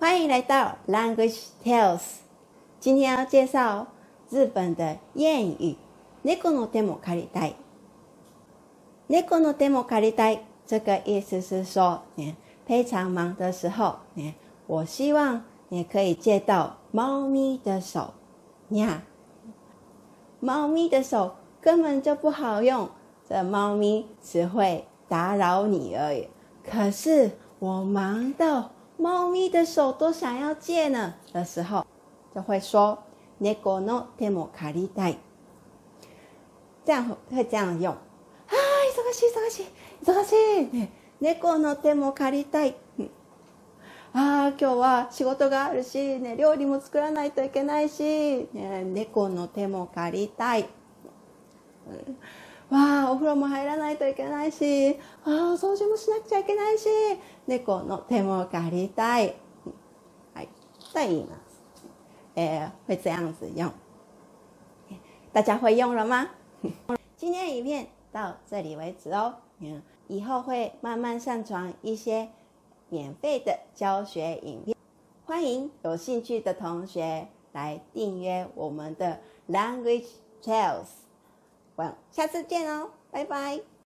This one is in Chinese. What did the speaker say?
欢迎来到 Language Tales。今天要介绍日本的谚语“猫の手も借りたい”。猫の手も借りたい，这个意思是说，非常忙的时候，我希望你可以借到猫咪的手。猫咪的手根本就不好用，这猫咪只会打扰你而已。可是我忙到猫咪的手都想要借呢的时候，就会说“猫の手も借りたい”，这样会这样用。忙しい忙しい忙しい、猫の手も借りたい。今日は仕事があるし、料理も作らないといけないし、猫の手も借りたい。お風呂も入らないといけないし、掃除もしなくちゃいけないし、猫の手も借りたい。再言います。会这样子用。大家会用了吗？今天影片到这里为止哦。以后会慢慢上传一些免费的教学影片，欢迎有兴趣的同学来订阅我们的 Language Tales。下次见哦，拜拜。